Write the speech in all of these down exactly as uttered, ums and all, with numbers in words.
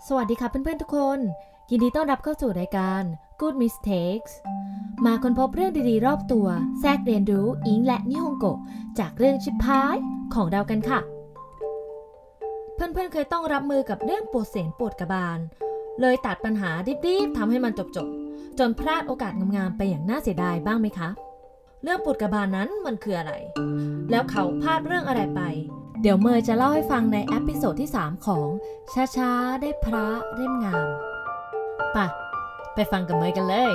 สวัสดีค่ะเพื่อนๆทุกคนยินดีต้อนรับเข้าสู่รายการ Good Mistakes มาค้นพบเรื่องดีๆรอบตัวแทรกเรียนรู้อิงและนิฮงโกะจากเรื่องชิปพายของเรากันค่ะเพื่อนๆเคยต้องรับมือกับเรื่องปวดเสียนปวดกระบาลเลยตัดปัญหาดิบๆทำให้มันจบๆจนพลาดโอกาสงามๆไปอย่างน่าเสียดายบ้างไหมคะเรื่องปวดกระบาลนั้นมันคืออะไรแล้วเขาพลาดเรื่องอะไรไปเดี๋ยวเมย์จะเล่าให้ฟังในเอพิโซดที่สามของช้าๆได้พระเล่มงามไปไปฟังกับเมย์กันเลย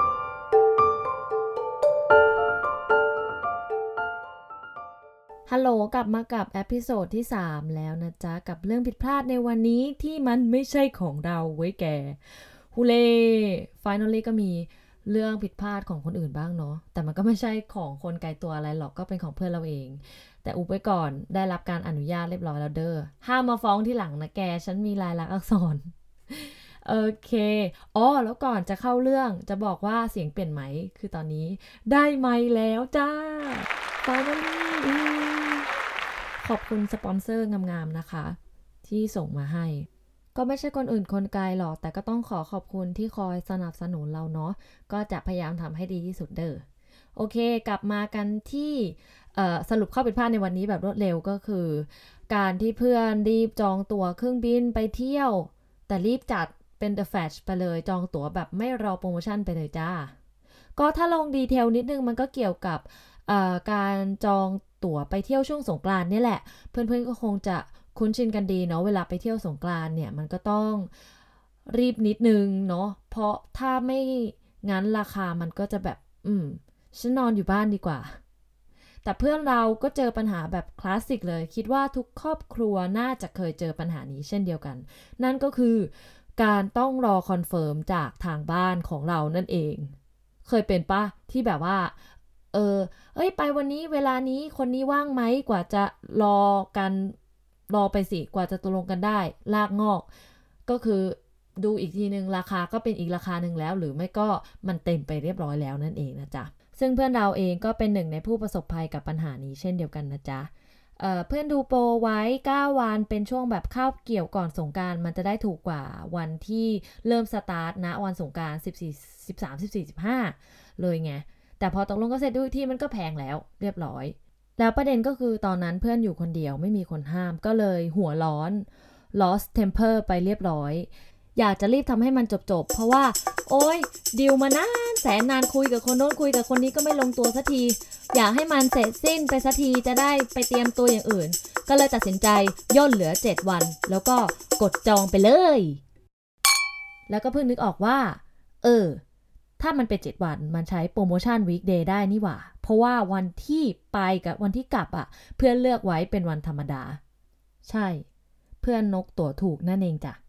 ฮัลโหลกลับมากับเอพิโซดที่สามแล้วนะจ๊ะกับเรื่องผิดพลาดในวันนี้ที่มันไม่ใช่ของเราไว้แกฮูเล่ finally ก็มีเรื่องผิดพลาดของคนอื่นบ้างเนาะแต่มันก็ไม่ใช่ของคนไกลตัวอะไรหรอกก็เป็นของเพื่อนเราเองแต่อุบไว้ก่อนได้รับการอนุญาตเรียบร้อยแล้วเด้อห้ามมาฟ้องที่หลังนะแกฉันมีลายลักษณ์อักษรโอเคอ๋อแล้วก่อนจะเข้าเรื่องจะบอกว่าเสียงเปลี่ยนไหมคือตอนนี้ได้ไมค์แล้วจ้า finally ขอบคุณสปอนเซอร์งามๆนะคะที่ส่งมาให้ก็ไม่ใช่คนอื่นคนไกลหรอกแต่ก็ต้องขอขอบคุณที่คอยสนับสนุนเราเนาะก็จะพยายามทำให้ดีที่สุดเด้อโอเคกลับมากันที่สรุปข้อผิดพลาดในวันนี้แบบรวดเร็วก็คือการที่เพื่อนรีบจองตั๋วเครื่องบินไปเที่ยวแต่รีบจัดเป็น The Flash ไปเลยจองตั๋วแบบไม่รอโปรโมชั่นไปเลยจ้าก็ถ้าลงดีเทลนิดนึงมันก็เกี่ยวกับการจองตั๋วไปเที่ยวช่วงสงกรานต์นี่แหละเพื่อนๆก็คงจะคุ้นชินกันดีเนาะเวลาไปเที่ยวสงกรานต์เนี่ยมันก็ต้องรีบนิดนึงเนาะเพราะถ้าไม่งั้นราคามันก็จะแบบอืมฉันนอนอยู่บ้านดีกว่าแต่เพื่อนเราก็เจอปัญหาแบบคลาสสิกเลยคิดว่าทุกครอบครัวน่าจะเคยเจอปัญหานี้เช่นเดียวกันนั่นก็คือการต้องรอคอนเฟิร์มจากทางบ้านของเรานั่นเองเคยเป็นปะที่แบบว่าเออเอ้ยไปวันนี้เวลานี้คนนี้ว่างไหมกว่าจะรอกันรอไปสิกว่าจะตกลงกันได้ลากงอกก็คือดูอีกทีนึงราคาก็เป็นอีกราคานึงแล้วหรือไม่ก็มันเต็มไปเรียบร้อยแล้วนั่นเองนะจ๊ะซึ่งเพื่อนเราเองก็เป็นหนึ่งในผู้ประสบภัยกับปัญหานี้เช่นเดียวกันนะจ๊ะ เ, เพื่อนดูโปรไว้เก้าวันเป็นช่วงแบบคาบเกี่ยวก่อนสงกรานต์มันจะได้ถูกกว่าวันที่เริ่มสตาร์ทนะวันสงกรานต์สิบสี่ สิบสาม สิบสี่ สิบห้าเลยไงแต่พอตกลงก็เสร็จดูที่มันก็แพงแล้วเรียบร้อยแล้วประเด็นก็คือตอนนั้นเพื่อนอยู่คนเดียวไม่มีคนห้ามก็เลยหัวร้อน lost temper ไปเรียบร้อยอยากจะรีบทำให้มันจบๆเพราะว่าโอ๊ยดิวมานานแสนนานคุยกับคนโน้นคุยกับคนนี้ก็ไม่ลงตัวสักทีอยากให้มันเสร็จสิ้นไปสักทีจะได้ไปเตรียมตัวอย่างอื่นก็เลยตัดสินใจย่นเหลือเจ็ดวันแล้วก็กดจองไปเลยแล้วก็เพิ่งนึกออกว่าเออถ้ามันเป็นเจ็ดวันมันใช้โปรโมชั่น weekday ได้นี่หว่าเพราะว่าวันที่ไปกับวันที่กลับอ่ะเพื่อนเลือกไว้เป็นวันธรรมดาใช่เพื่อนนกตั๋วถูกนั่นเองจ้ะ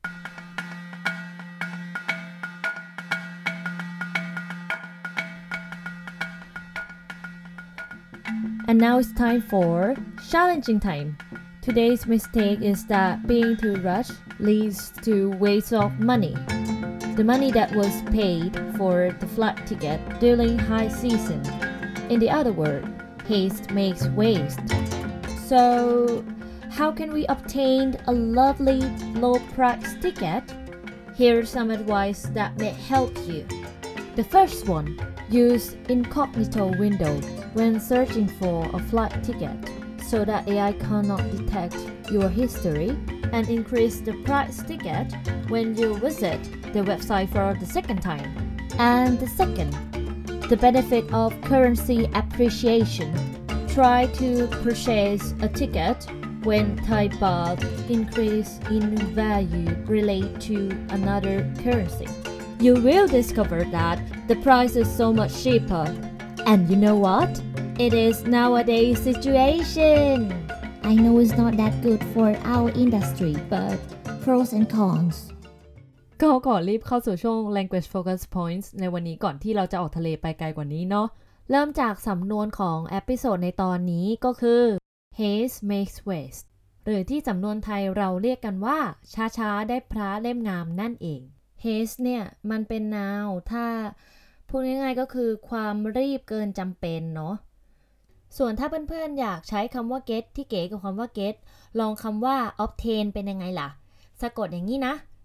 And now it's time for challenging time. Today's mistake is that being too rushed leads to waste of money. The money that was paid for the flight ticket during high season. In the other word, haste makes waste. So, how can we obtain a lovely low price ticket? Here's some advice that may help you. The first one, use incognito window when searching for a flight ticket so that A I cannot detect your history and increase the price ticket when you visit the website for the second time. And the second, the benefit of currency appreciation. Try to purchase a ticket when Thai baht increase in value relate to another currency. You will discover that the price is so much cheaper. And you know what? It is nowadays situation. I know it's not that good for our industry, but pros and cons. ก็ขอรีบเข้าสู่ช่วง language focus points ในวันนี้ก่อนที่เราจะออกทะเลไปไกลกว่านี้เนาะเริ่มจากสำนวนของเอพิโซดในตอนนี้ก็คือ haste makes waste หรือที่สำนวนไทยเราเรียกกันว่าช้าๆได้พระเล่มงามนั่นเอง haste เนี่ยมันเป็น noun ถ้าพูดง่ายๆก็คือความรีบเกินจำเป็นเนาะส่วนถ้าเพื่อนๆอยากใช้คำว่า get ที่เก๋กับคำว่า get ลองคำว่า obtain เป็นยังไงล่ะสะกดอย่างนี้นะ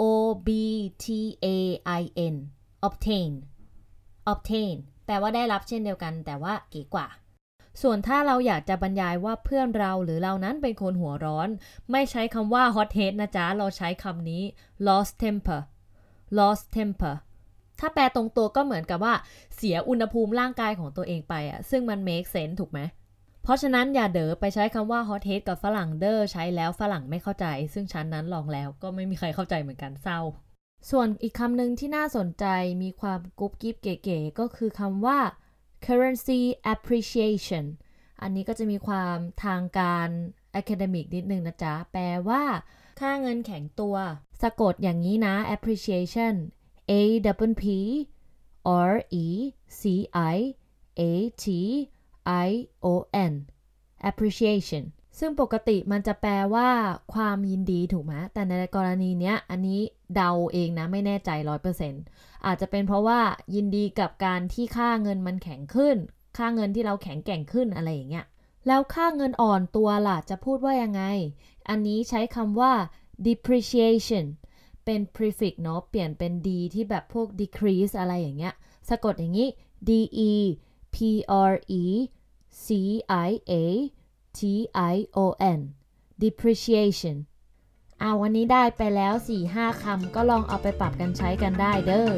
O B T A I N obtain obtain แปลว่าได้รับเช่นเดียวกันแต่ว่าเก๋กว่าส่วนถ้าเราอยากจะบรรยายว่าเพื่อนเราหรือเรานั้นเป็นคนหัวร้อนไม่ใช้คำว่า hot head นะจ๊ะเราใช้คำนี้ lost temper lost temper ถ้าแปลตรงตัวก็เหมือนกับว่าเสียอุณหภูมิร่างกายของตัวเองไปอะซึ่งมัน make sense ถูกไหมเพราะฉะนั้นอย่าเด๋อไปใช้คำว่า hot head กับฝรั่งเด้อใช้แล้วฝรั่งไม่เข้าใจซึ่งฉันนั้นลองแล้วก็ไม่มีใครเข้าใจเหมือนกันเศร้าส่วนอีกคำหนึ่งที่น่าสนใจมีความกุ๊บกิ๊บเก๋ๆก็คือคำว่า currency appreciation อันนี้ก็จะมีความทางการ academic นิดนึงนะจ๊ะแปลว่าค่าเงินแข็งตัวสะกดอย่างนี้นะ appreciation A P P R E C I A T I O N appreciation ซึ่งปกติมันจะแปลว่าความยินดีถูกไหมแต่ในกรณีเนี้ยอันนี้เดาเองนะไม่แน่ใจ ร้อยเปอร์เซ็นต์ อาจจะเป็นเพราะว่ายินดีกับการที่ค่าเงินมันแข็งขึ้นค่าเงินที่เราแข็งแกร่งขึ้นอะไรอย่างเงี้ยแล้วค่าเงินอ่อนตัวล่ะจะพูดว่ายังไงอันนี้ใช้คำว่า depreciation เป็น prefix เนาะเปลี่ยนเป็น d ที่แบบพวก decrease อะไรอย่างเงี้ยสะกดอย่างนี้ d e p r e c i a t i o n depreciation เอาวันนี้ได้ไปแล้ว สี่ห้า คำก็ลองเอาไปปรับกันใช้กันได้เด้อ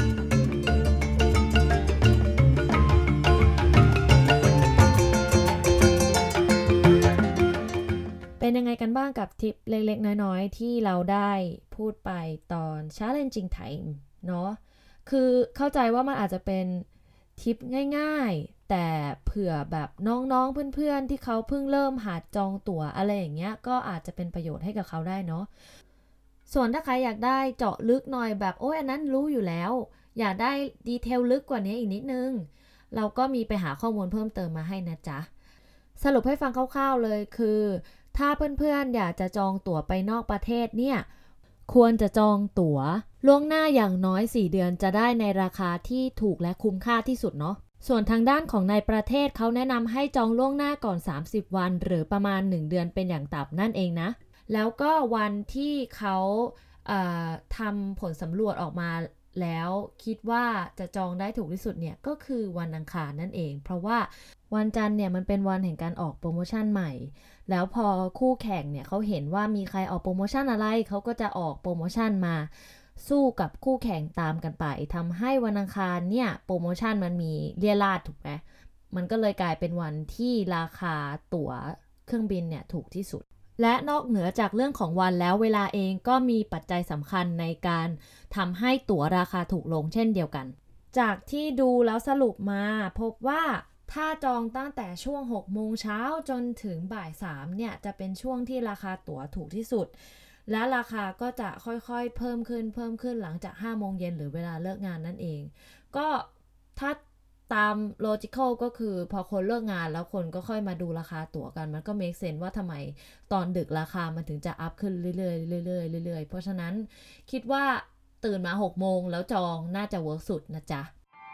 เป็นยังไงกันบ้างกับทิปเล็กๆน้อยๆที่เราได้พูดไปตอน challenging time เนาะคือเข้าใจว่ามันอาจจะเป็นทิปง่ายๆแต่เผื่อแบบน้องๆเพื่อนๆที่เขาเพิ่งเริ่มหัดจองตั๋วอะไรอย่างเงี้ยก็อาจจะเป็นประโยชน์ให้กับเขาได้เนาะส่วนถ้าใครอยากได้เจาะลึกหน่อยแบบโอ้ยอันนั้นรู้อยู่แล้วอยากได้ดีเทลลึกกว่านี้อีกนิดนึงเราก็มีไปหาข้อมูลเพิ่มเติมมาให้นะจ๊ะสรุปให้ฟังคร่าวๆเลยคือถ้าเพื่อนๆอยากจะจองตั๋วไปนอกประเทศเนี่ยควรจะจองตั๋วล่วงหน้าอย่างน้อยสี่เดือนจะได้ในราคาที่ถูกและคุ้มค่าที่สุดเนาะส่วนทางด้านของในประเทศเขาแนะนำให้จองล่วงหน้าก่อนสามสิบวันหรือประมาณหนึ่งเดือนเป็นอย่างต่ำนั่นเองนะแล้วก็วันที่เขาเอ่อทำผลสำรวจออกมาแล้วคิดว่าจะจองได้ถูกที่สุดเนี่ยก็คือวันอังคารนั่นเองเพราะว่าวันจันทร์เนี่ยมันเป็นวันแห่งการออกโปรโมชั่นใหม่แล้วพอคู่แข่งเนี่ยเขาเห็นว่ามีใครออกโปรโมชั่นอะไรเขาก็จะออกโปรโมชั่นมาสู้กับคู่แข่งตามกันไปทำให้วันอังคารเนี่ยโปรโมชั่นมันมีเลี่ยราดถูกไหมมันก็เลยกลายเป็นวันที่ราคาตั๋วเครื่องบินเนี่ยถูกที่สุดและนอกเหนือจากเรื่องของวันแล้วเวลาเองก็มีปัจจัยสำคัญในการทำให้ตั๋วราคาถูกลงเช่นเดียวกันจากที่ดูแล้วสรุปมาพบว่าถ้าจองตั้งแต่ช่วงหกโมงเช้าจนถึงบ่ายสามเนี่ยจะเป็นช่วงที่ราคาตั๋วถูกที่สุดและราคาก็จะค่อยๆเพิ่มขึ้นเพิ่มขึ้นหลังจากห้าโมงเย็นหรือเวลาเลิกงานนั่นเองก็ถ้าตาม logical ก็คือพอคนเลิกงานแล้วคนก็ค่อยมาดูราคาตั๋วกันมันก็ make sense ว่าทำไมตอนดึกราคามันถึงจะอัพขึ้นเรื่อยๆเรื่อยๆเรื่อยๆเพราะฉะนั้นคิดว่าตื่นมาหกโมงแล้วจองน่าจะเวิร์กสุดนะจ๊ะ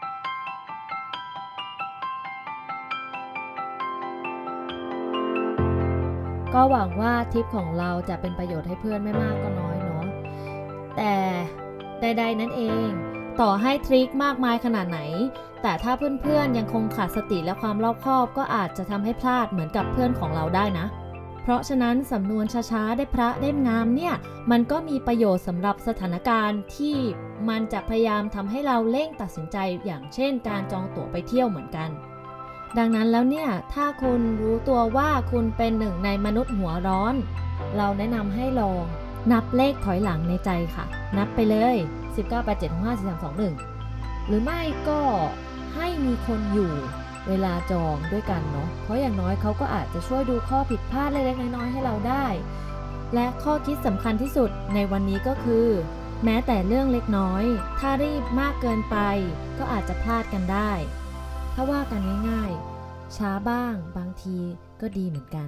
ก็หวังว่าทริปของเราจะเป็นประโยชน์ให้เพื่อนไม่มากก็น้อยเนาะแต่ใดๆนั่นเองต่อให้ทริคมากมายขนาดไหนแต่ถ้าเพื่อนๆยังคงขาดสติและความรอบคอบก็อาจจะทำให้พลาดเหมือนกับเพื่อนของเราได้นะเพราะฉะนั้นสำนวนช้าๆได้พระเล่มงามเนี่ยมันก็มีประโยชน์สำหรับสถานการณ์ที่มันจะพยายามทำให้เราเร่งตัดสินใจอย่างเช่นการจองตั๋วไปเที่ยวเหมือนกันดังนั้นแล้วเนี่ยถ้าคุณรู้ตัวว่าคุณเป็นหนึ่งในมนุษย์หัวร้อนเราแนะนำให้ลองนับเลขถอยหลังในใจค่ะนับไปเลยสิบเก้า แปด เจ็ด หก ห้า สี่ สาม สอง หนึ่งหรือไม่ก็ให้มีคนอยู่เวลาจองด้วยกันเนาะเพราะอย่างน้อยเขาก็อาจจะช่วยดูข้อผิดพลาดเล็กๆน้อยๆให้เราได้และข้อคิดสำคัญที่สุดในวันนี้ก็คือแม้แต่เรื่องเล็กน้อยถ้ารีบมากเกินไปก็อาจจะพลาดกันได้ถ้าว่ากันง่ายๆช้าบ้างบางทีก็ดีเหมือนกัน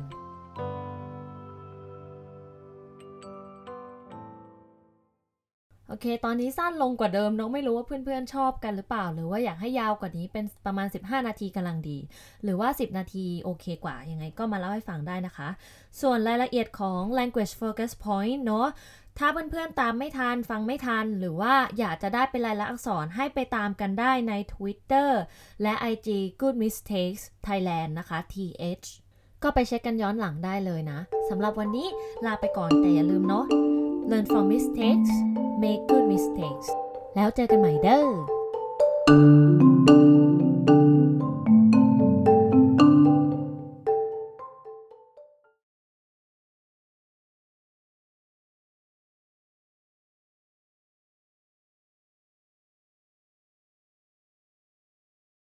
โอเคตอนนี้สั้นลงกว่าเดิมน้องไม่รู้ว่าเพื่อนๆชอบกันหรือเปล่าหรือว่าอยากให้ยาวกว่านี้เป็นประมาณสิบห้านาทีกำลังดีหรือว่าสิบนาทีโอเคกว่ายังไงก็มาเล่าให้ฟังได้นะคะส่วนรายละเอียดของ language focus point เนาะถ้าเพื่อนๆตามไม่ทันฟังไม่ทันหรือว่าอยากจะได้เป็นลายลักษณ์อักษรให้ไปตามกันได้ใน Twitter และ ไอ จี Good Mistakes Thailand นะคะ ที เอช ก็ไปเช็คกันย้อนหลังได้เลยนะสำหรับวันนี้ลาไปก่อนแต่อย่าลืมเนาะ Learn from mistakes make good mistakes แล้วเจอกันใหม่เด้อ